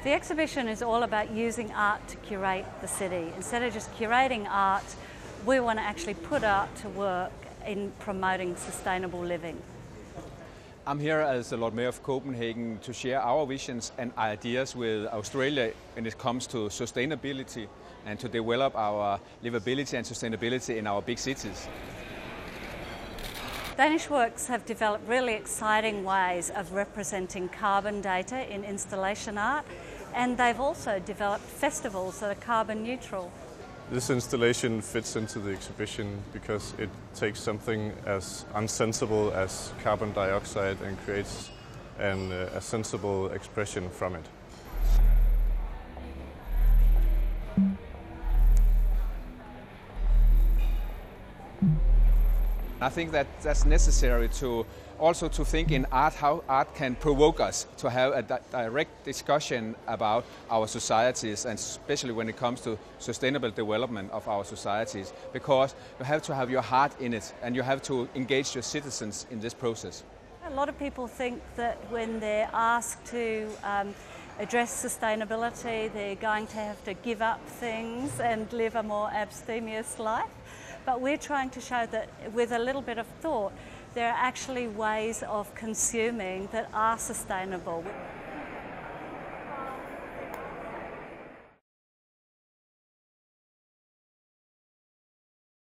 The exhibition is all about using art to curate the city. Instead of just curating art, we want to actually put art to work in promoting sustainable living. I'm here as the Lord Mayor of Copenhagen to share our visions and ideas with Australia when it comes to sustainability and to develop our livability and sustainability in our big cities. Danish Works have developed really exciting ways of representing carbon data in installation art, and they've also developed festivals that are carbon neutral. This installation fits into the exhibition because it takes something as unsensible as carbon dioxide and creates a sensible expression from it. I think that that's necessary to also to think in art how art can provoke us to have a direct discussion about our societies, and especially when it comes to sustainable development of our societies, because you have to have your heart in it and you have to engage your citizens in this process. A lot of people think that when they're asked to address sustainability, they're going to have to give up things and live a more abstemious life. But we're trying to show that with a little bit of thought, there are actually ways of consuming that are sustainable.